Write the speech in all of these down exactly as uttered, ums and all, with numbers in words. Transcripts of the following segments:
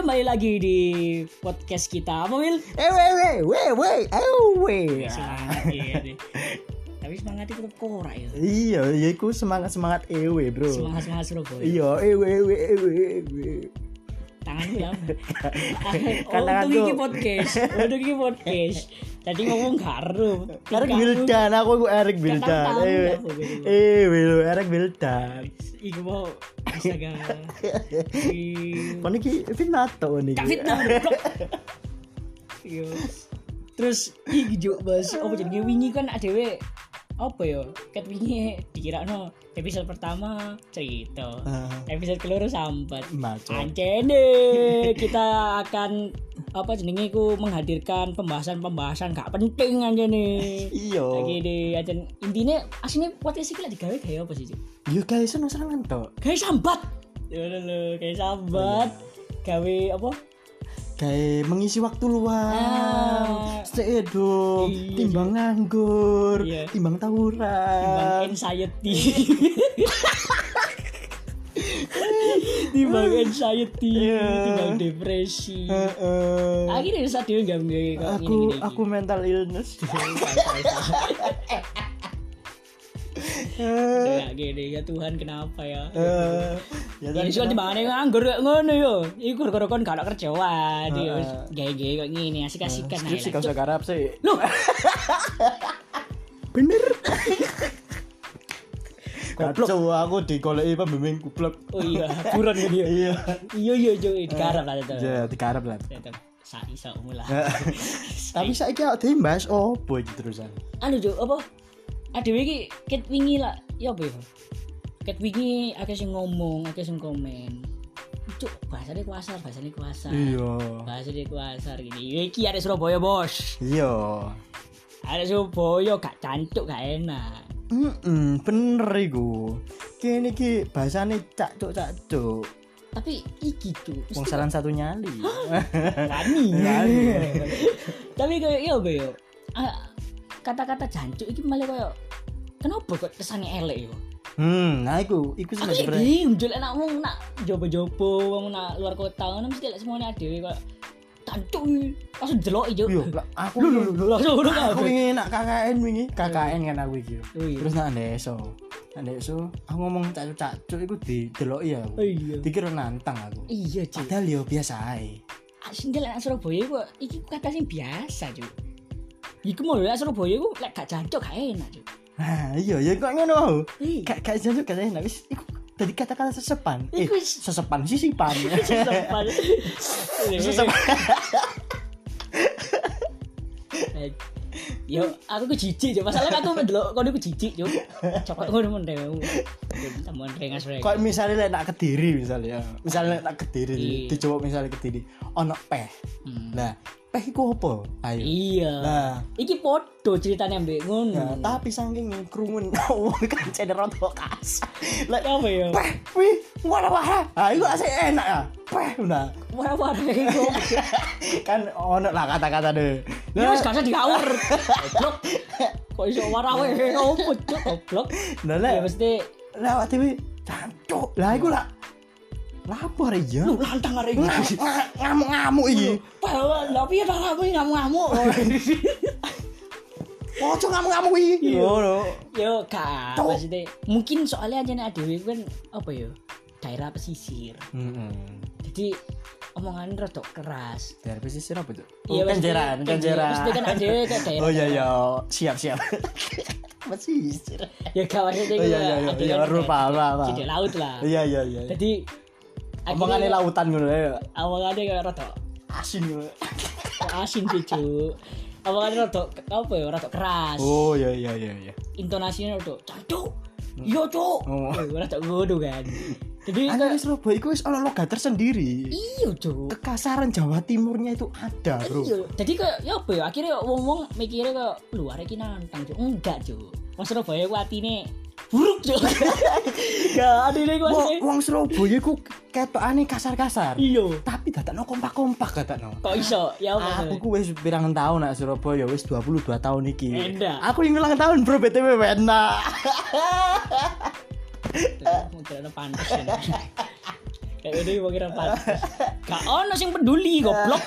kembali lagi di podcast kita. Apa Wil? Eh weh weh weh weh ayo weh. Semangat ya deh. Tapi semangat itu tetap korak ya. Iya, iya iku semangat-semangat ewe, Bro. Semangat-semangat Surabaya. Iya, ewe ewe ewe ewe. Tanganku ya. Kan Oh, tanganku. untuk iki podcast. Untuk iki podcast. Tadi ngomong karo. Erik Wildan, aku iku Erik Wildan. tahu Ewe. apa gitu. Ewe lho, Erik Wildan. Iku mau astaga. Kon iki Finato niki. Kak fitnah. Blok. Yo. Terus iki juk Bos, apa jenenge wingi kan adewe apa ya? Ket wingi dikirakno episode pertama cerita. Uh. Episode keloro sambat. Maco. Ancene kita akan apa jenenge iku menghadirkan pembahasan-pembahasan gak penting anjene. Iya. Lagi di ajen intine asline podcast iki lek digawe gawe apa sih, Cuk? Yo guys, seneng-seneng to. Gawe sambat. Ya lho, gawe sambat. Gawe apa? Kayak mengisi waktu luang, Ah. stay hidup, Iya, timbang nganggur, Iya. timbang tawuran, Timbang anxiety. Timbang anxiety, Iya. timbang depresi. Heeh. Akhirnya saat dia gak gini aku aku mental illness. Kayak gini ya Tuhan kenapa ya? Eh, ya Ya iso timbangane nganggur kok ngono yo. Iku gara-gara kon gak ada kerjaan yo. Heeh. Gawe-gawe kok ngene asik-asikan ae. skripsi kau sekarang sih. Loh, Bener. Goblok. Kacau aku digoleki pembimbing goblok. Oh iya, buron gitu ya. Iya. Iya iya yo digarap lah itu. Ya, digarap lah. Tetep sak iso mulai. Tapi saiki awak dhewe mbahas opo iki terusan? Anu Cuk, apa? Adewe iki ket wingi lah, ya apa ya? Ket wingi akeh sing ngomong, akeh sing komen. Cuk, bahasane kuasar, bahasane kuasar. Iya. Bahasane kuasar gini. Ya iki arek Surabaya, Bos. Iya. Arek Surabaya gak cancuk, gak enak. Heeh, bener iku. Kene iki bahasane cak-cuk-cak-cuk. Tapi iki Cuk, Wong saran satu nyali. wani. Wani. Tapi kayak ya apa ya? Ah, kata-kata jancuk iki malah kayak kenapa kok kesannya elek yo? Hmm, nah iku, iku Aku sebenarnya. iki njol enak wong nak jopo-jopo wong nak luar kota ngono mesti lek semuanya dhewe kok jancuk iki. Langsung deloki yo. Yo, lah, aku Lho lho lho langsung ngono aku kabeh. wingi nak K K N wingi, K K N kan aku iki. Oh iya. Terus nak deso. Nak deso, aku ngomong cacuk-cacuk iku dideloki ya. Oh iya. Dikira nantang aku. Iya, Cuk. Padahal yo biasa ae. Sing lek Surabaya kok iki kata sing biasa, Cuk. Iku mau lek Surabaya ku lek gak jancuk gak enak, Cuk. Nah, iya ya kok ngono. Iya. Gak gak jancuk gak enak wis iku dadi kata-kata sesepan. Eh, Iku wis- sesepan sisipan. Sesepan. Sesepan. Eh, Yo, aku ku jijik, Cuk. Masalahnya aku ndelok kono ku jijik, Cuk. Cokok ngono men dewe. Temen rengas rengas. Kok misalnya lek nak Kediri misalnya. Misalnya lek nak Kediri, Iya. dicoba misalnya Kediri, ono peh. Hmm. Nah, peh iku apa? Ayo. Iya. Nah, Iki podo ceritanya mbek ngono. nah, tapi saking krungun wong kancene rada kasar. Lek Apa ya? peh, wih, wara-wara. Ah, iku asik enak ya. Peh, nah. Wara-wara iku. Kan ono lah kata-kata deh. Ya wis gak usah diawur. Goblok. Kok iso warawe opo cuk goblok. Nah, Ya lek mesti lek awak dhewe cancuk. Lah iku lah. Lapor ya. lu lantang arek iki. Ngam- ngam- Ngamuk-ngamuk iki. Lah piye ta kamu ngamuk-ngamuk. Ojo ngamuk-ngamuk iki. Iya. Ngono. Yo gak Cuk. maksudnya mungkin soalnya aja adewe kan apa ya? Daerah pesisir. Heeh. Jadi omongan rada keras. Daerah pesisir apa tuh? Iya, Oh, Kenjeran, maksudnya- Kenjeran. maksudnya kan adewe kayak daerah- Oh iya iya, siap siap. Pesisir. Ya gak maksudnya Oh iya iya iya, adewe iya kan rupa kayak apa apa. Cedek laut lah. Iya iya iya. Jadi Omongannya akhirnya- lautan ngono ya. Awalnya kayak rada Asin ngono. asin sih Cuk. Awalnya rada apa ya rada keras. Oh iya iya iya iya. Intonasinya rada cancuk. Iya Cuk. Oh. Eh, rada ngono kan. Jadi Ana kayak di Surabaya iku wis ono logat tersendiri. iya Cuk. Kekasaran Jawa Timurnya itu ada, Bro. Iya, jadi kayak ya apa ya akhirnya wong-wong mikirnya kayak luar iki nantang Cuk. Enggak Cuk. Wong Surabaya ku atine buruk Cuk. Enggak, adine ku Wong asine. wong Surabaya iku ketokane kasar-kasar. Iya. Tapi dadakno kompak-kompak dadakno. Kok iso? Ya apa? Aku ku wis pirang tahun nak Surabaya wis dua puluh dua tahun iki. Enak. Aku yang ulang tahun bro B T W enak. Mungkin ada pantas ya. Kayak udah mau kira pantes. Gak ono sing peduli goblok.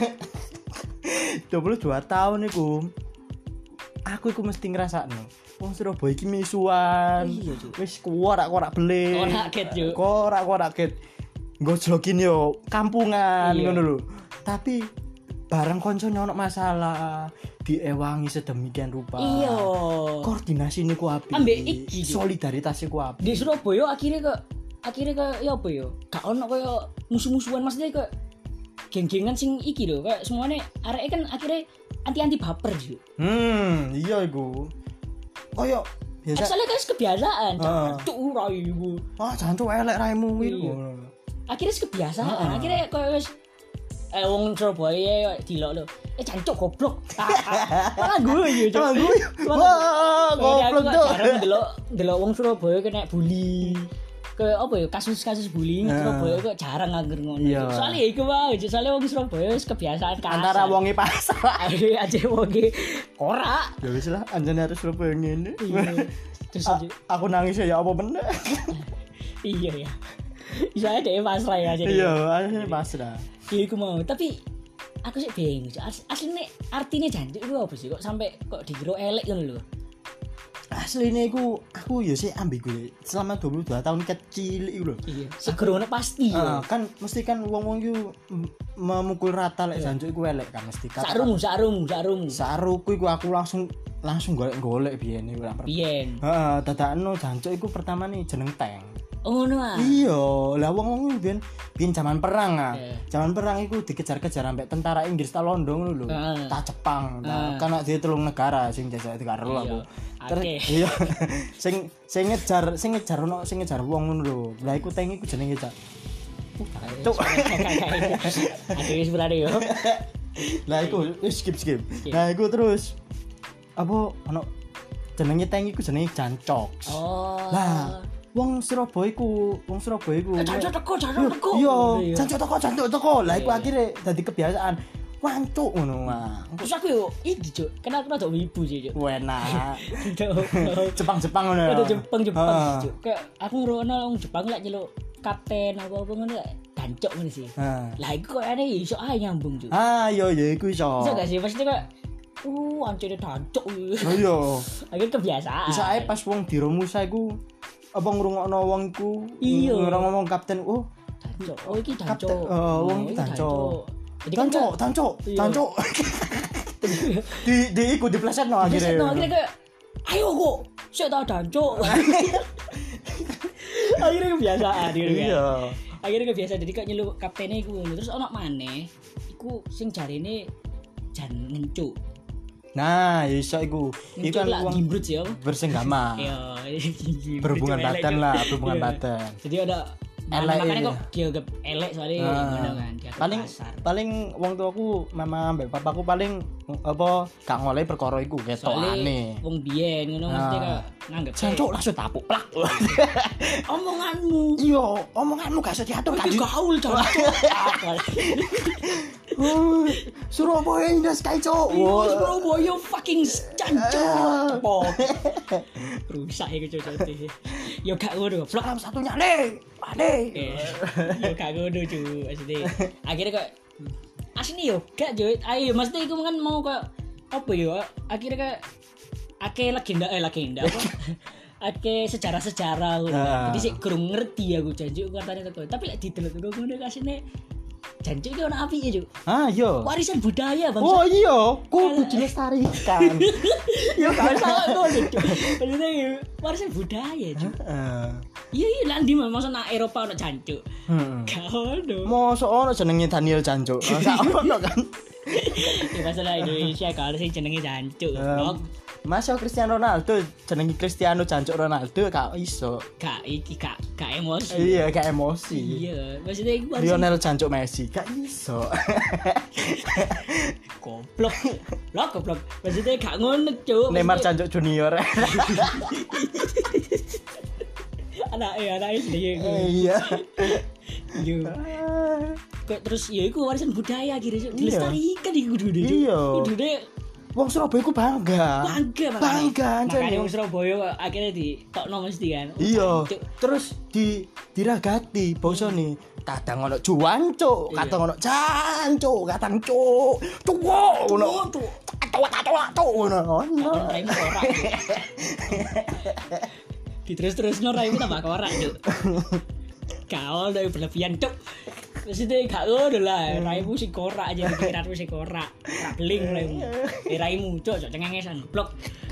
dua puluh dua tahun iku. Aku iku mesti ngrasakno. Wong Surabaya iki misuan. Iya, Cuk. Wis korak-korak beli. Korak ket, Cuk. Korak-korak ket. Gojlokin yo kampungan Iya. ngono lho. Tapi bareng koncone ono masalah, diewangi sedemikian rupa. Iya. Koordinasi niku apik. Ambek iki, Cuk. Solidaritas iku apik. Di Surabaya akhirnya ke akhirnya ke ya apa ya? Gak ono kaya musuh-musuhan maksudnya ke geng-gengan sing iki lho, kayak semuanya areke kan akhirnya anti-anti baper juga. Hmm, iya iku. Koyo biasa. Soalnya kan kebiasaan, Heeh. cuk ora iku. Wah, jancuk elek raimu Iya. iku. Akhirnya kebiasaan, Heeh. akhirnya koyo wis eh wong Surabaya dilok lho. Eh jancuk goblok. Malah gue yo, Cuk. Ah, gue. Wah, goblok tuh. Jarang delok delok wong Surabaya kena bully. Ke apa ya kasus-kasus bullying Nah. Surabaya kok jarang angger ngono. Iya. Cuk. Soalnya iku wae, Cuk. Soalnya wong Surabaya wis kebiasaan kasar. Antara wonge pasar. aja aja wonge ora. Ya wis lah, anjane harus Surabaya ngene. Iya. Terus A- Cuk, aku nangis ya apa bener. iya ya. Saya deh pasrah ya jadi. Iya, akhirnya pasrah. Iya aku mau, tapi aku sih bingung. Cuk. As- Aslinya artinya jancuk itu apa sih? Kok sampai kok dikira elek ngono lho. Asline iku aku ya sih ambigu ya. Selama dua puluh dua tahun kecil iku lho. Iya. Segerone pasti Ah, ya. kan mesti kan wong-wong iku m- memukul rata lek jancuk iku elek kan mesti. Kata- Sarung, sarung, sarung. Saruku iku aku langsung langsung golek-golek biyen iku. Biyen. Heeh, dadakno jancuk iku pertama nih jeneng tank. Oh ngono ah. Iya, lah wong-wong biyen biyen zaman perang ah. Iya. Zaman perang iku dikejar-kejar sampai tentara Inggris ta Londo ngono lho. Heeh. Ta Jepang, ta Heeh. kan dia telung negara sing jajah karo Iya. aku. Akeh. Iya. sing sing ngejar sing ngejar ono sing ngejar wong ngono lho. Lah iku tank iku jenenge Cak. Cuk. Ada wis berani yo. Lah iku wis skip skip. Skip. Lah iku terus apa ono jenenge tank iku jenenge Jancok. Oh. Lah, wong Surabaya iku, wong Surabaya iku. Eh, jancuk teko, jancuk teko. Iya, Iya. jancuk teko, jancuk teko. Lah iku Iya. akhirnya dadi kebiasaan. Wancuk ngono mah. Terus aku yo iki Cuk, karena aku rada wibu sih Cuk. Enak. Cuk. Jepang-Jepang ngono ya. Ada Jepang Jepang Heeh. Cuk. Kayak aku ngrono wong Jepang lek nyeluk kapten apa-apa ngono lek gancok ngono sih. Heeh. Lah iku kok aneh iso ae nyambung Cuk. Ah, iya iya iku iso. Bisa gak sih pasti kayak uh ancene gancok. Oh iya. Akhirnya kebiasaan. Bisa ae pas wong di Romusa iku apa ngrungokno wong iku Iya. ngomong kapten, oh Gancok. Oh iki kapten, gancok. eh, wong Oh, iki gancok. Jadi kan Tancuk, tancuk, Iya. tancuk. di di iku diplesetno akhirnya akhirnya. akhirnya kayak ayo kok saya tahu gancok. Akhirnya kebiasaan gitu kan. Iya. Akhirnya kebiasaan jadi kayak nyeluk kaptennya iku ngono. Terus ono maneh iku sing jarine jan ngencuk. Nah, iso iku. Iku Ngencuk kan lah wong gimbrut ya. bersenggama. Iya, Berhubungan Elek, badan Cuk. lah, berhubungan Iya. badan. Jadi ada Elek makanya iya. kok dianggap elek soalnya Ah. ngono kan. dianggap paling kasar. paling wong tuaku mama mbek papaku paling apa gak ngoleh perkara iku Soalnya ketokane. wong biyen ngono Ah. mesti kayak nganggep Jancuk langsung tapuk plak. omonganmu Iya, omonganmu gak iso diatur kan. iki gaul jancuk. Uh, Surabaya indah sekali, Cok. Oh, Surabaya fucking jancuk. Tepok. Rusak iku cocok. Yo gak ngono, blok Salam satunya, Le. Ade. Eh, yo gak ngono cu maksudnya akhirnya kok asli yo gak Joy ayo maksudnya itu kan mau kok apa yo akhirnya kayak ake legenda eh legenda apa ake sejarah-sejarah ngono Ah. jadi sih kurang ngerti aku janji katanya teko tapi lek didelok teko ngono kasine janji iki ono apike Cuk Ah, iya. warisan budaya bangsa Oh iya, kudu dilestarikan. yo gak salah ngono Cuk maksudnya yo, warisan budaya Cuk Heeh. iya iya lah ndi masa nak Eropa ono jancuk Heeh. gak ono Mosok ono jenenge Daniel Jancuk. Gak ono kan. ya masalah Indonesia kalau sih jenenge jancuk Um, Masa Cristiano Ronaldo jenenge Cristiano Jancuk Ronaldo gak iso. gak iki gak gak emosi Iya, gak emosi. iya maksudnya iku warisan Lionel Jancuk Messi gak iso. goblok lah goblok maksudnya gak ngono Cuk Neymar Maksudnya- Jancuk Junior. anak eh anak sendiri Iya. yo kok terus ya iku warisan budaya akhirnya Cuk. Iya. dilestarikan iku kudu Iya. kudu Wong Surabaya ku bangga. bangga makanya. Bangga, makanya anjir. wong Surabaya kok akhirnya di tokno mesti kan Iya. Cuk. Terus di diragati bosone. Kadang ono juancuk, Iya. kadang ono jancuk, kadang cuk. Cuk ngono. Tuh. Atuk-atuk ngono. Ono. Raimu korak. Diterus-terus no raimu tambah korak, Cuk. Kau udah berlebihan, Cuk. Terus itu gak ngono lah, raimu sing korak aja pikiranmu sing korak. Rak beling raimu. Eh raimu, Cuk, Cuk cengengesan, blok.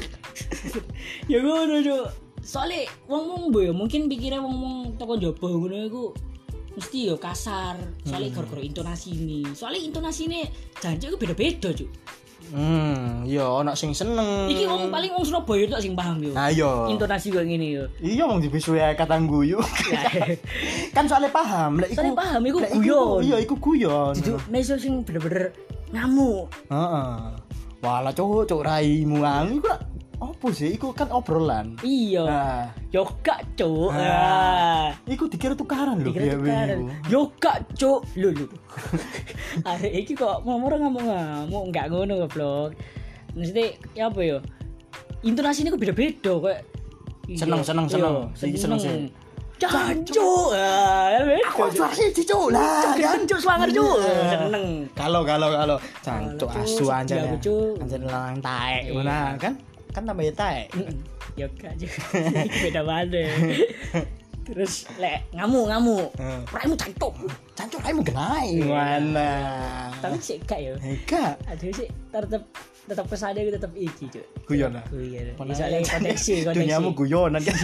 Ya ngono, Cuk. Soale wong-wong boyo mungkin pikirnya wong-wong toko njaba ngono iku mesti yo kasar. Soale gara-gara intonasine. Soale intonasine jancuk iku beda-beda, Cuk. Hmm, iya ono sing seneng. Iki wong paling wong Surabaya tok sing paham yo. Nah, iya. Intonasi kok ngene yo. Iya wong dibisuwe kata guyu. Kan soalnya paham, lek iku. Soale paham iku lek guyon. Iya, iku guyon. Jadi neso sing bener-bener ngamuk. Heeh. Walah cuk, cuk raimu ang iku lak opo sih? Iku kan obrolan. Iya. Nah, Yo gak, Cuk. Nah. Ah. iku dikira tukaran lho Dikira tukaran. Yo gak, Cuk. Lho lho. Arek iki kok momor ngamuk-ngamuk, enggak ngono goblok. Mesti ya apa yo? Intonasinya kok beda-beda kok. Seneng, seneng, seneng. Iki seneng sih. Jancuk. Ah, beda. Kok sih cuk lah. Jancuk swanger, Cuk. Seneng. Kalau kalau kalau cancuk Kalau, asu Cuk, anjane. iya, Cuk. Anjane lanang taek Iya. ngono kan? Kan tambah ya taek. Yo gak juga. Beda banget. Terus lek ngamuk-ngamuk. Heeh. Raimu cancuk. Cancuk raimu genai. Iya. Mana? Tapi sih gak yo. Eka. Aduh sih tetep tetep kesane tetep iki, Cuk. Guyon lah. Guyon. Soalnya koneksi, koneksi. Duniamu guyonan kan.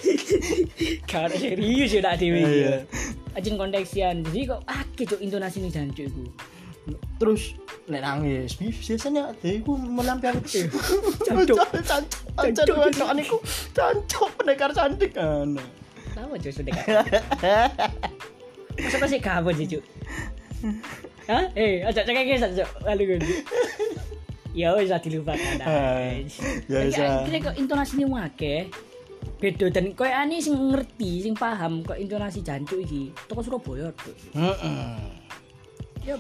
Kalau serius ya nak dhewe. Iya. Ajin konteksian. Jadi kok akeh Cuk intonasine jancuk iku. Terus nek nangis biasanya adekku melampiaskan Cancuk. cancuk cancuk cancuk aniku cancuk pendekar cantik kan. Tahu Cuk sudah kan. Masa masih kabur sih, Cuk. Hah? Eh, ajak cekek Cuk. Lalu gue. Ya wis dilupakan. Ya wis. Kira kok intonasine akeh. Beda dan koyo ani sing ngerti, sing paham kok intonasi jancuk iki. Toko Surabaya, Cuk. Heeh. Ya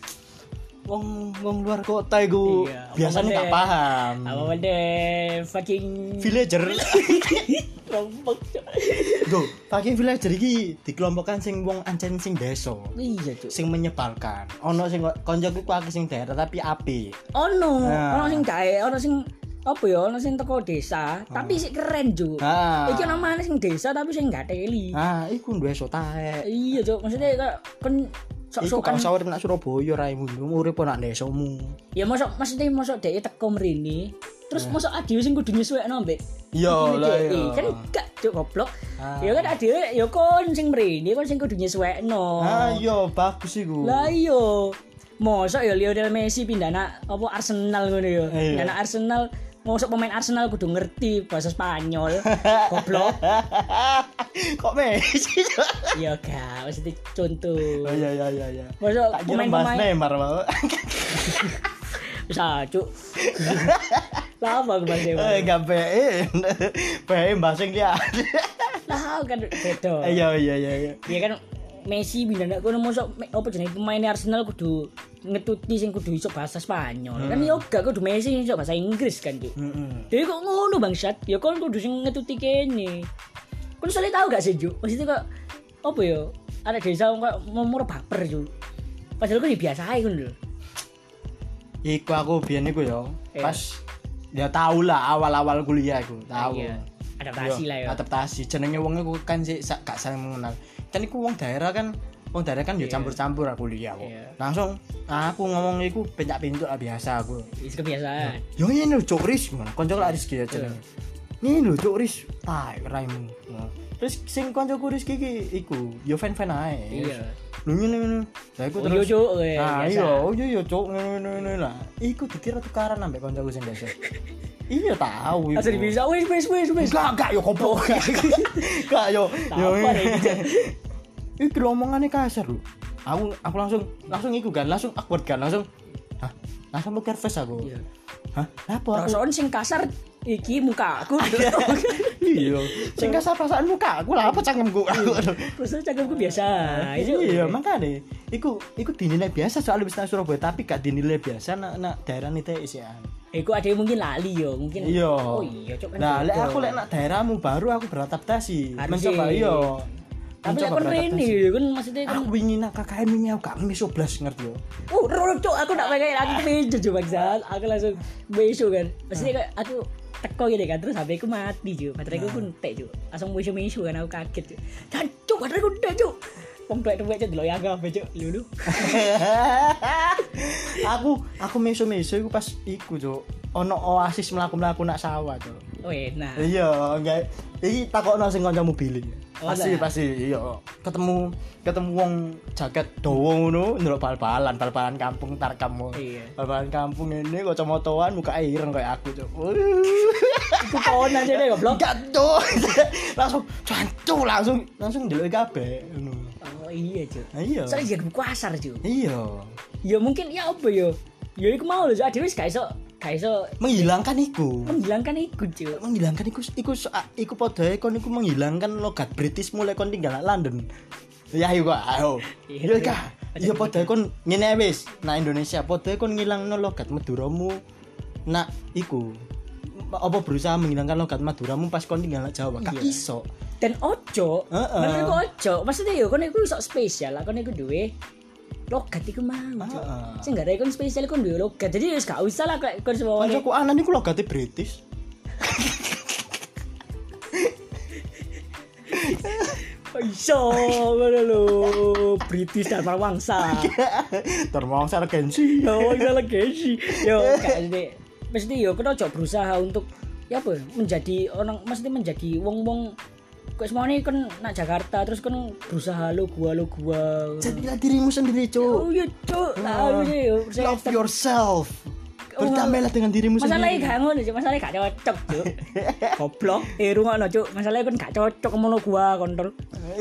Wong wong luar kota iku Iya, biasanya apa gak deh? paham. apa deh fucking Villager. rombok, Cuk. Go, fucking villager iki dikelompokkan sing wong ancen sing desa. Iya, Cuk. Sing menyebalkan. Ono sing koncoku akeh sing daerah tapi apik. Ono, Nah. ono sing dae, ono sing apa ya, ono sing teko desa, tapi sik keren, Cuk. Ah. Iki ono maneh sing desa tapi sing gak teli. Ah, iku duwe so taek. Iya, Cuk. Maksudnya kayak kon Iku sok-sokan. kalau sawur nak Surabaya raimu urip nak desamu. Ya mosok maksudnya mosok dhek teko mrene. Terus mosok adewe sing kudu nyesuwekno mbek. Iya Iki lah dhek. iya. Kan gak, Cuk, goblok. Ah. Ya kan adewe ya kon sing mrene, kon sing kudu nyesuwekno. Ah iya bagus iku. Lah iya. Mosok ya Lionel Messi pindah nak apa Arsenal ngono ya. Iya. Pindah nak Arsenal, mosok pemain Arsenal kudu ngerti bahasa Spanyol. Goblok. Kok Messi? Ya gak, mesti contoh. Oh iya iya iya iya. Mosok Tak kira bahas pemain-pemain Neymar mau. bisa, Cuk. Lah apa bahasa Eh gak bae. Bae bahasa dia. Lah kan beda. Iya iya iya iya. Ya kan Messi pindah nak kono mosok me- apa jenenge pemain Arsenal kudu ngetuti sing kudu iso bahasa Spanyol. Kan yo gak kudu Messi iso bahasa Inggris kan, Cuk. Heeh. Dewe kok ngono bangsat? Ya kon kudu sing ngetuti kene. Kon soalnya tahu gak sih, Juk? Maksudnya kok apa ya? Ada desa kok momor baper, Juk. Padahal kok biasa ae kon lho. Iku aku biyen iku yo. Eh. Pas ya tau lah awal-awal kuliah iku, tahu. Iya. Adaptasi Yo, lah ya. Adaptasi. Jenenge wong iku kan sik sak- gak saling mengenal. Kan iku wong daerah kan wong daerah kan ya Iya. campur-campur aku kuliah kok. Iya. Langsung aku ngomong iku pencak-pincuk lah biasa aku. Wis kebiasaan. Yo ini lho Cuk Ris ngono. Kanca lak Rizky ya jenenge. Ini lho Cuk Ris. Tai raimu. Nah, terus sing kancaku Rizky iki iku yo fan-fan ae. Iya. Lho ngene ngene. Lah iku Oh, terus. iya, Cuk, eh, Nah, biasa. iya, oh iya iya Cuk ngene ngene lah. Iku dikira tukaran ambek kancaku sing desa. Iya tahu iku. Asal bisa wis wis wis wis. Enggak, enggak yo goblok. Enggak yo. Yo. Apa iki? Iki omongane kasar lho. Aku aku langsung langsung iku kan, langsung awkward kan, langsung. Hah? Langsung poker face aku. Iya. Hah? Apa aku? Perasaan sing kasar iki muka aku. Iya. Sing kasar perasaan muka aku lah apa cangkemku. Terus cangkemku biasa. Itu Iya, makane iku iku dinilai biasa soal wis nang Surabaya tapi gak dinilai biasa nak nak daerah nite isian. Iku ada yang mungkin lali yo, mungkin. Iya. Oh iya, Cuk. kan Nah, lek beda. aku lek nak daerahmu baru aku beradaptasi. Harus Mencoba sih. iya. Tapi lek Mencoba kon rene beradaptasi. ya kan maksudnya kan Aku wingi nak K K N wingi aku gak meso blas ngerti yo. oh ro cuk aku tak pakai aku meja coba bangsat. Aku langsung meso kan. Maksudnya kayak aku teko gini kan terus H P ku mati cuk. Bateraiku pun entek cuk. Langsung meso-meso kan aku kaget cuk. Jancuk bateraiku entek cuk. Wong tuwek-tuwek cuk delok ya H P cuk. Lulu. aku aku meso-meso iku pas iku cuk. Ono oasis mlaku-mlaku nak sawah cuk. Oh enak. Iya, enggak. Iki takokno sing kancamu billing. Oh, Pasti lah. pasti iya. Ketemu ketemu wong jaket dawa ngono ndelok bal-balan, bal-balan kampung tarkam. Iya. Bal-balan kampung ini kacamataan muka ireng kayak aku, Cuk. Iku kawan aja deh goblok. Enggak, Cuk. Langsung cancu langsung langsung ndelok kabeh ngono. Oh iya cuk. Iya. Soalnya jadi pasar cuk. Iya. Ya mungkin ya apa ya? Ya iku mau lho, adewe wis gak iso gak iso Menghilangkan iku. menghilangkan iku cuk. menghilangkan iku iku iku padha kon iku menghilangkan logat British mulai kon tinggal nang London. Ya ayo kok, ayo. Iya, Ya kah. Ya padha kon ngene wis, nah Indonesia padha kon ngilangno logat Maduramu. Nak iku apa berusaha menghilangkan logat Maduramu pas kon tinggal nang Jawa. Gak Iya. iso. Dan ojo, Heeh. menurutku ojo. Maksudnya ya kon iku iso spesial lah, kon iku duwe logat iku mau. Cuk. Heeh. Sing gak ada kon spesial kon duwe logat. Jadi wis gak usah lah kayak kon semuanya. Kancaku anan iku logate British. Iso ngono lho. British dan Wangsa. Termongsa regensi. Yo, iso legasi. Yo, gak mesti mesti yo kon ojo berusaha untuk ya apa menjadi orang mesti menjadi wong-wong kok semuanya kan nak Jakarta terus kan berusaha lu gua lu gua. Jadilah dirimu sendiri, Oh Cuk. iya cuk, lah ini yo saya Love yourself. Berdamailah dengan dirimu masalahnya sendiri. gak ngono cuk, masalahnya gak cocok cuk. Goblok, eh rungokno cuk, masalahnya kan gak cocok ngono gua kontrol.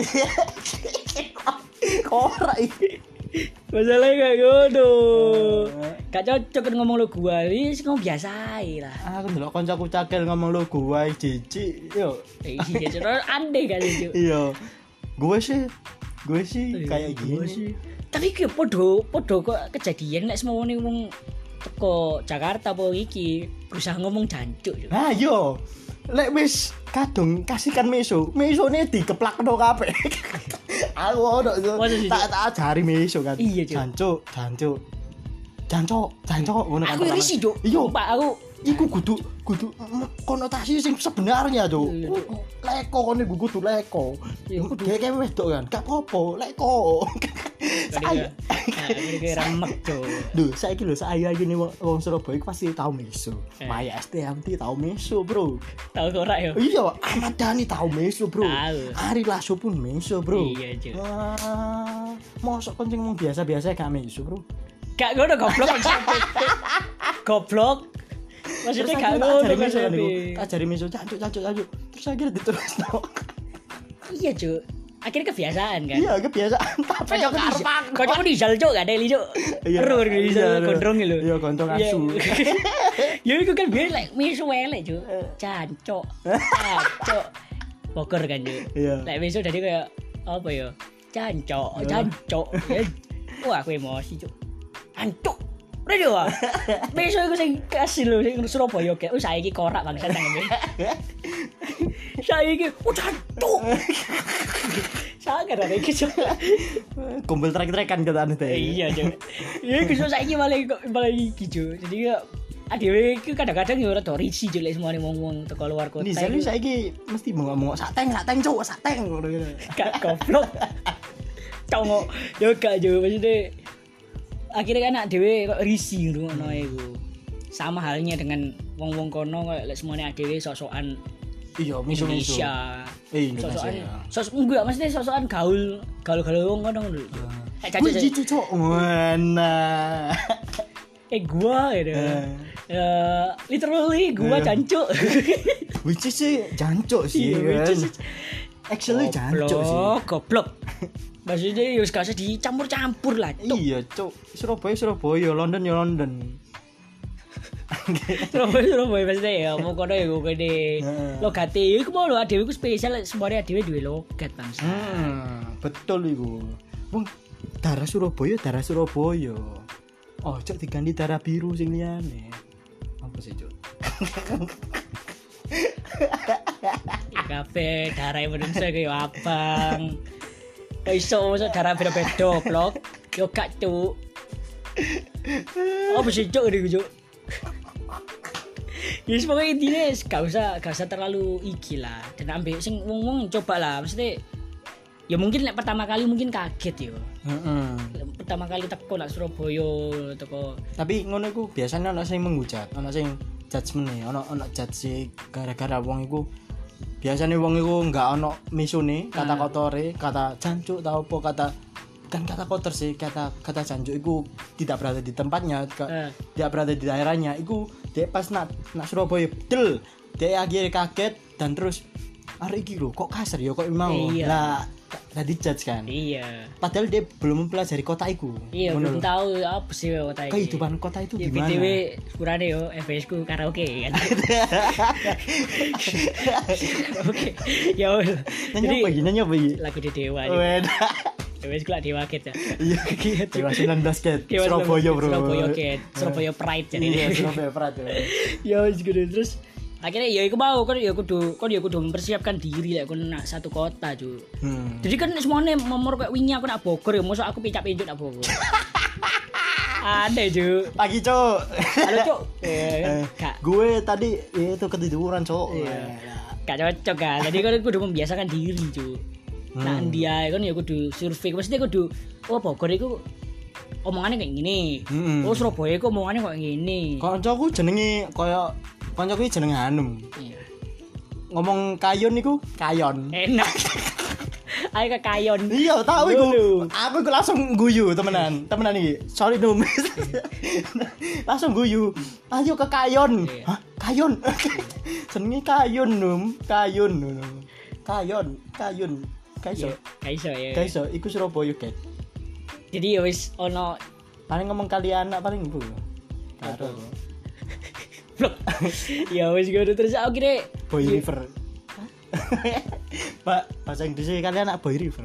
Ora iki. Masalahnya kayak ngono. Gak cocok kan ngomong lu gua, wis ngomong biasa ae lah. Aku ndelok kancaku cakil ngomong lo gue jijik. Yo. Eh iya cuk, aneh kali cuk. Iya. Gue sih gue sih kayak Gua gini. sih. Tapi ki podo podo kok kejadian nek semono wong teko Jakarta apa iki berusaha ngomong jancuk cuk. Nah, yo. Lek wis kadung kasihkan meso, mesone dikeplakno kabeh. Aku ono Masa sih, tak tak ajari meso kan. Iya, Cuk. Jancuk, jancuk. Jancuk, jancuk ngono kan. Aku risih cuk. Iya. Pak aku Iku kudu kudu mm, konotasi sing sebenarnya tuh. Iya, iya. Leko kon iku kudu leko. Iya, kudu. Dhek wedok kan, gak apa-apa, leko. Saya Kayak remek cuk. Duh, saiki lho saya gini wong wong Surabaya iku pasti tau meso. Eh. Maya S T M T tau meso, Bro. Tahu kok ora yo. Iya, Ahmad Dhani tau meso, Bro. Tahu. Ari Lasso pun meso, Bro. Iya, Cuk. Wah, mosok kencing wong biasa-biasa gak meso, Bro. Gak ngono goblok. Goblok. Maksudnya gak ngono ajari meso kan konsepnya. iku. Ajari meso, cancuk, cancuk, cancuk. Terus akhirnya diterusno. Iya cuk. Akhirnya kebiasaan kan. Iya, kebiasaan. Tapi Kocok gak di arep kocok di jal cuk gak ada li cuk. Iya. Ero kan di Iya, jal gondrong lho. iya, gondrong Iya. asu. Ya iku kan biar like misu elek cuk. Cancok. Cancok. Poker kan cuk. Iya. Lek besok jadi kayak apa ya? Cancok, cancok. Ya. Wah, aku emosi cuk. Cancok. Radio ah. Besok aku sing kasih lho sing Surabaya kayak oh saiki korak bangsa nang ngene. Saiki oh cancok. Sangat ada iki cuk. Kumpul trek-trekan katane teh. Iya cuk. Ya iku saiki malah malah iki cuk. Jadi ya adewe iki kadang-kadang ya ora do risi cuk lek semua wong-wong teko luar kota. Ini saya saiki mesti ngomong sateng, sateng cuk, sateng ngono gitu. Gak goblok. Congok. Yo gak yo maksudnya akhirnya kan anak dhewe kok risi ngono iku. Sama halnya dengan wong-wong kono kok lek semuanya adewe sok-sokan Iya, miso-miso. Indonesia. Eh, Indonesia. Sok-sokan ya. sosok enggak maksudnya sok-sokan gaul, gaul-gaul wong kono lho. Kayak Wih, caca. cici cuk. Mana? Eh gua gitu. Eh. Ya literally gua Eh. jancuk. Which is sih jancuk sih. Iya, which is- kan. Actually jancuk sih. Goblok, goblok. Maksudnya ya gak usah dicampur-campur lah. Cuk. Iya, cuk. Surabaya, Surabaya, London ya London. Surabaya Surabaya maksudnya ya mau kono ya gue gede Heeh. logat e iku mau lo adewe ku spesial semuanya adewe duwe logat bangsa. Hmm, betul iku. Wong darah Surabaya, darah Surabaya. Oh, cuk diganti darah biru sing liyane. Apa sih, cuk? Kafe darah Indonesia kayak abang. Gak iso masa darah beda-beda blok. Yo gak cuk. Apa sih cuk ini cuk? Ya pokoknya intinya gak usah gak usah terlalu iki lah. Dan ambil sing wong-wong coba lah. Maksudnya ya mungkin like, pertama kali mungkin kaget yo. Heeh. Pertama kali teko nak Surabaya teko. Tapi ngono iku biasanya ana sing menghujat, ana sing judgement e, ana ana judge gara-gara wong iku biasanya wong iku enggak ana misune, kata kotore, kata jancuk ta apa kata kan kata kotor sih, kata kata jancuk iku tidak berada di tempatnya, ke, uh. tidak berada di daerahnya. Iku dia pas nak nak Surabaya del, dia akhirnya kaget dan terus arek iki lho kok kasar ya kok mau. Iya. Lah tadi judge kan. Iya. Padahal dia belum mempelajari kota iku. Iya, belum tahu apa sih kota itu. Kehidupan kota itu ya, gimana? B T W sepurane yo F S ku karaoke kan. Oke. Ya udah. Nanya apa gini nanya apa gini? Lagu di Dewa. Weda. Wes ku Dewa Ket ya. Iya, Dewa sembilan belas Ket. Surabaya, Bro. Surabaya Ket. Surabaya Pride jadi. Iya, Surabaya Pride. Ya wis gitu terus akhirnya ya iku mau kan ya kudu kan ya kudu mempersiapkan diri lek kon nak satu kota cu. Hmm. Jadi kan semuanya memor kayak wingi aku nak Bogor ya mosok aku picak-pincuk nak Bogor. Ada cu. Pagi cuk. Halo cuk. Eh, gue tadi ya, itu ketiduran cuk. Iya. Gak cocok kan. Jadi kan kudu membiasakan diri cu. Hmm. Nah dia kan ya kudu survei maksudnya kudu oh Bogor iku omongannya kayak gini. Hmm. Oh Surabaya iku omongannya kayak gini. Kancaku jenenge koyo kancaku iki jenenge Hanum. Iya. Ngomong kayon niku kayon. Enak. Ayo ke kayon. Iya, tahu iku. Aku iku langsung guyu temenan. Temenan iki. Sorry Num. Langsung guyu. Ayo ke kayon. Iya. Hah? Kayon. Jenenge kayon Num. Kayon Num. Kayon, kayon. Kaiso. Kaiso ya. Kaiso iku Surabaya Ket. Jadi ya wis ono paling ngomong kali anak paling ibu. Karo. Ya wis gue terus aku kira Boy River. Pak, bahasa Inggrisnya kalian anak Boy River.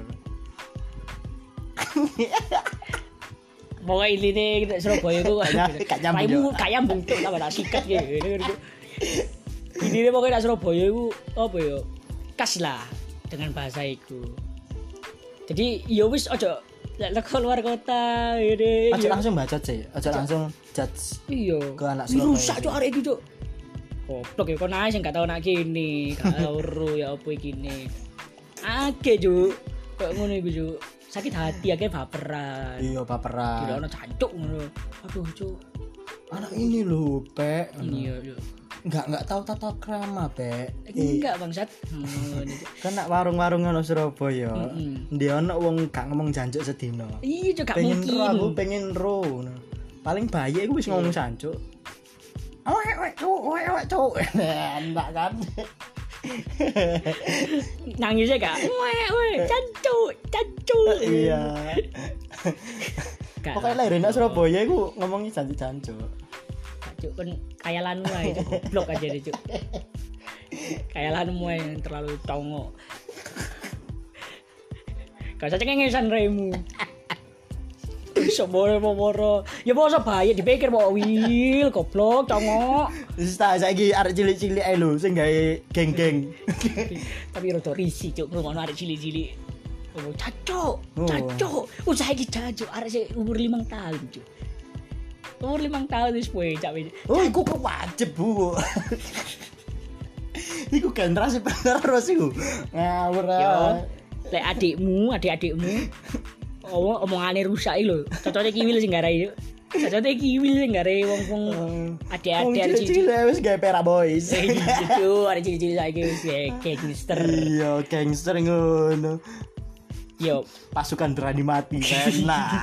Pokoknya ini nih Surabaya itu gak nyambung. Kayak nyambung tuh tak ada sikat gitu. Ini nih pokoknya Surabaya itu apa ya? Khas lah dengan bahasa itu. Jadi ya wis ojo lek keluar kota ini. Aja langsung baca sih, aja langsung judge. Iya. Ke anak Surabaya. Rusak cuk arek iki cuk. Goblok ya kok nae sing gak tau nak kene, gak ero ya apa iki ne. Ake cuk. Kok ngono iku cuk. Sakit hati akhirnya baperan. Iya baperan. Kira ono cancuk ngono. Aduh cuk. Anak ini lho, Pek. Iya, iya. Enggak enggak tahu tata krama, Pek. Enggak, Bangsat. Kan nak warung-warung ono Surabaya. Dia ono wong gak ngomong jancuk sedina. Iya, gak pengen mungkin. Ro, aku pengen ro. Paling bayi iku wis ngomong jancuk. Awek awek cuk, awek awek cuk. Enggak kan. Nangisnya gak? Weh, weh, cancuk, cancuk. Iya. Pokoknya lahir nak Surabaya iku ngomongnya jancuk-jancuk. Cuk kan kayalanmu ae itu goblok aja deh cuk. Kayalanmu yang terlalu tongo. Gak usah cengengesan remu. Iso moro-moro. Ya mosok bayi dipikir mau wil goblok tongo. Wis ta saiki arek cilik-cilik ae lho sing gawe geng-geng. Tapi rada risih cuk ngono arek cilik-cilik. Oh, cacuk, cacuk. Usah iki cacuk arek sing umur lima tahun cuk. Umur lima tahun wis poe cak wis. Oh, iku kok wajib, Bu. Iku generasi penerus iku. Ngawur. Yo. Lek adikmu, adik-adikmu oh, omongane rusak iki lho. Cocote kiwil sing garai yo. Cocote kiwil sing garai wong-wong adik-adik cilik wis gawe Pera Boys. Gitu, ada cilik-cilik saiki wis gangster. Iya, gangster ngono. Yo, pasukan berani mati enak.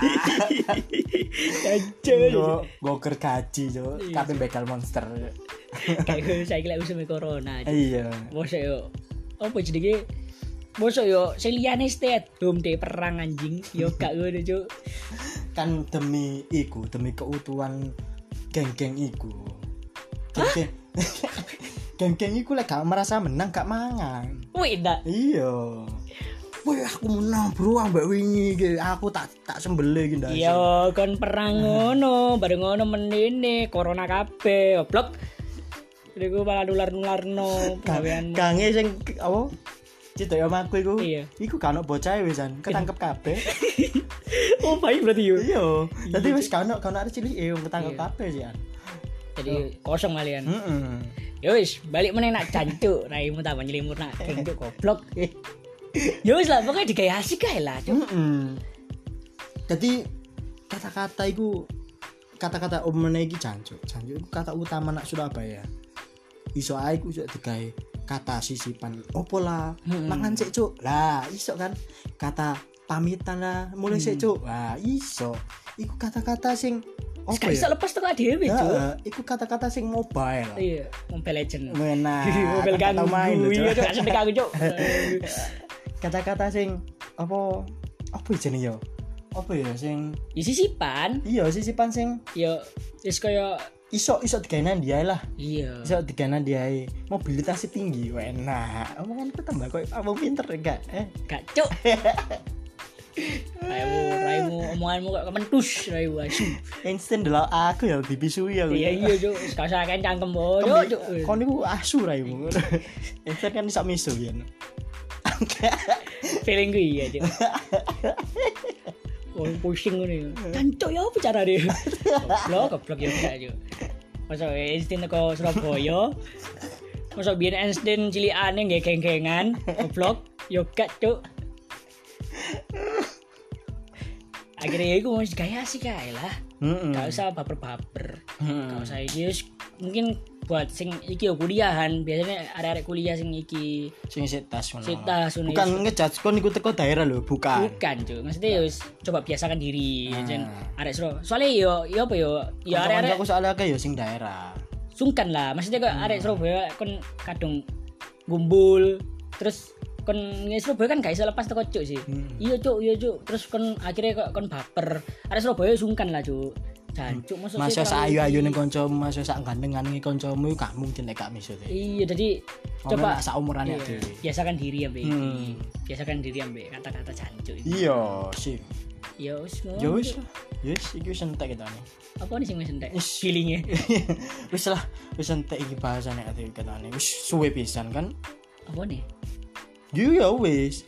Anjir. Go goker gaji yo, kabeh begal monster. Kayak saiki lek usum corona. Iya. Mosok yo. Apa jenenge? Mosok yo sing liyane stay at home deh perang anjing. Yo gak ngono, Cuk. Kan demi iku, demi keutuhan geng-geng iku. Geng-geng. Geng-geng iku lek gak merasa menang gak mangan. Wih, ndak. Iya. Wih, aku menang bro ambek wingi iki. Aku tak tak sembelih iki ndak. Iya, kon perang ngono, bareng ngono menene corona kabeh. Goblok. Iku malah nular-nularno gawean. Gange sing apa? Cedok yo omahku iku. Iya. Iku kan ono bocah wisan, ketangkep kabeh. Oh, baik berarti yo. Iya. Dadi Iya, wis kan ono kan arek cilik e ketangkep Iya. kabeh sih. Jadi kosong kalian. Heeh. Ya wis, balik meneh nak jancuk, raimu tambah nyelimur nak jancuk goblok. Ya wis lah, pokoknya digawe asik ae lah, Cuk. Heeh. Dadi kata-kata iku kata-kata omene iki jancuk. Jancuk iku kata utama nak Surabaya. Iso ae iku iso digawe kata sisipan opo lah. Hmm. Mangan sik, Cuk. Lah, iso kan. Kata pamitan lah, mulai sik, Cuk. Lah, iso. Iku kata-kata sing Wis opo gak iso ya? lepas teko dhewe, Cuk. Ya, iku kata-kata sing mobile. Iya, Mobile Legend. Nah, Mobile kan tau main lho, ganggu, Cuk. iya, Cuk, asem aku, Cuk. Kata-kata sing apa apa jenenge ya? Apa ya sing Ya sisipan, iya sisipan sing ya wis kaya iso iso digawe dia lah. iya. Iso digawe dia mobilitasnya tinggi. Enak. Omonganku tambah koyo apa pinter enggak? Eh, Gak, Cuk. Raimu, raimu omonganmu kok kementus, raimu asu. instan delok aku ya dipisui aku. Iya iya, Cuk. Wis gak usah kencang kembo, Cuk. Kon niku asu raimu. Instan kan iso misu ya. Feeling gue iya, Cuk. Oh, pusing ngene. Cancuk ya apa carane? Goblok, goblok ya gak, Cuk. Masa Einstein teko Surabaya. Masa biyen Einstein cilikane nggih geng-gengan, goblok. Yo gak, Cuk. Akhirnya ya iku wis gaya asik ae lah. Heeh. Gak usah baper-baper. Hmm. Gak usah iki wis mungkin buat sing iki yo kuliahan, biasanya arek-arek kuliah sing iki Sing sik tas ngono. sik tas ngono. Bukan ngejudge kon iku teko daerah lho, bukan. Bukan, Cuk. Maksudnya ya wis coba biasakan diri, Ah. jen arek Suro. Soalnya yo yo apa yo, yo arek-arek aku soalnya akeh ya sing daerah. sungkan lah. Maksudnya kok arek Surabaya kon kadung gumbul, terus kon nge Surabaya kan gak iso lepas teko Cuk sih. Hmm. Iya, Cuk, iya, Cuk. Terus kon akhirnya kok kon baper. Arek Surabaya sungkan lah, Cuk. Jancuk masuk Masa sak ayu-ayune kancamu, masa sak gandengane kancamu gak mungkin nek gak miso. Iya, jadi Coba coba sak umurane iya, dhewe. biasakan diri ambek iki. Hmm. Biasakan diri ambek kata-kata jancuk iki. Iya, sip. Ya wis ngono. Ya wis. Wis iki wis entek kita nih. Apa nih sing wis entek? Wis. Feeling-e. Wis lah, wis entek iki bahasane ati katane. Wis suwe pisan kan. Apa nih? Yo ya wis.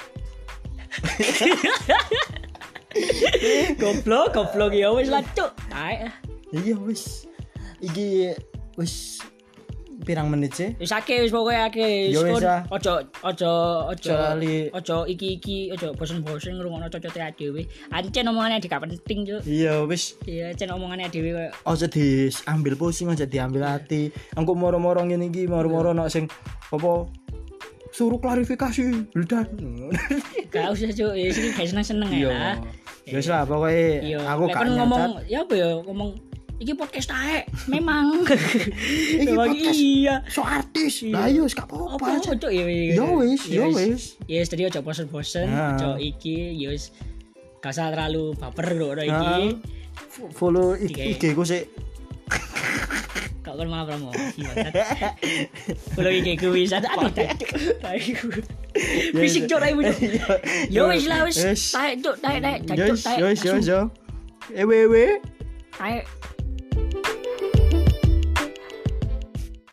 Goblok, goblok ya wis lah, Cuk. Taek. Iya wis. Iki wis pirang menit sih? Wis akeh wis pokoke akeh. Ya wis, ah. Ojo ojo ojo lali. ojo iki-iki ojo bosen-bosen ngrungokno cocote dhewe. Ancen omongane gak penting, Cuk. Iya wis. Iya, ancen omongane dhewe koyo Aja diambil pusing, aja diambil hati. Engko moro-moro ngene iki, moro-moro nek sing apa suruh klarifikasi Wildan. gak usah, Cuk. Ya sing gak seneng-seneng ya lah. Ya wis lah pokoke Iya, aku lek gak kon nyacat. ngomong ya apa ya, ngomong iki podcast taek. Memang. Iki Memang podcast iya. so artis. Lah yo wis gak Apa apa-apa aja. Cuk ya Ya wis, ya wis. Ya wis tadi aja bosen-bosen, Nah. aja iki ya wis gak usah terlalu baper lho iki. Nah, f- follow I Oke. G ku sik. Kak kon malah promosi banget. Kalau iki ku wis ada aduh cuk. Fisik cuk raimu cuk. Ya wis lah wis. Wis. Taek cuk, taek taek Ya cuk wis, taek. ya wis, ya wis. yo. Ewe ewe. Taek